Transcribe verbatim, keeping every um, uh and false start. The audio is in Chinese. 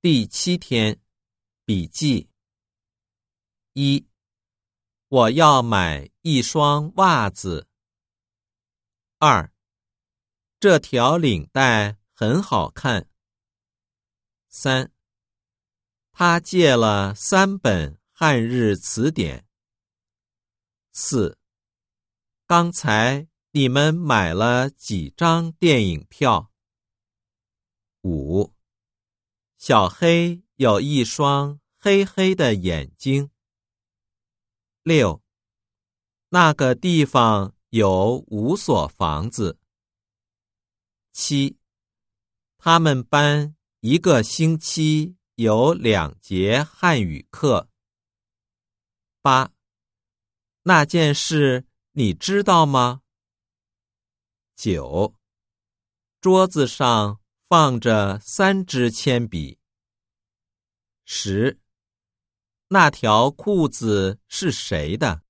第七天，笔记。一，我要买一双袜子。二，这条领带很好看。三，他借了三本汉日词典。四，刚才你们买了几张电影票？五，小黑有一双黑黑的眼睛。六，那个地方有五所房子。七，他们班一个星期有两节汉语课。八，那件事你知道吗？九，桌子上放着三支铅笔。十，那条裤子是谁的？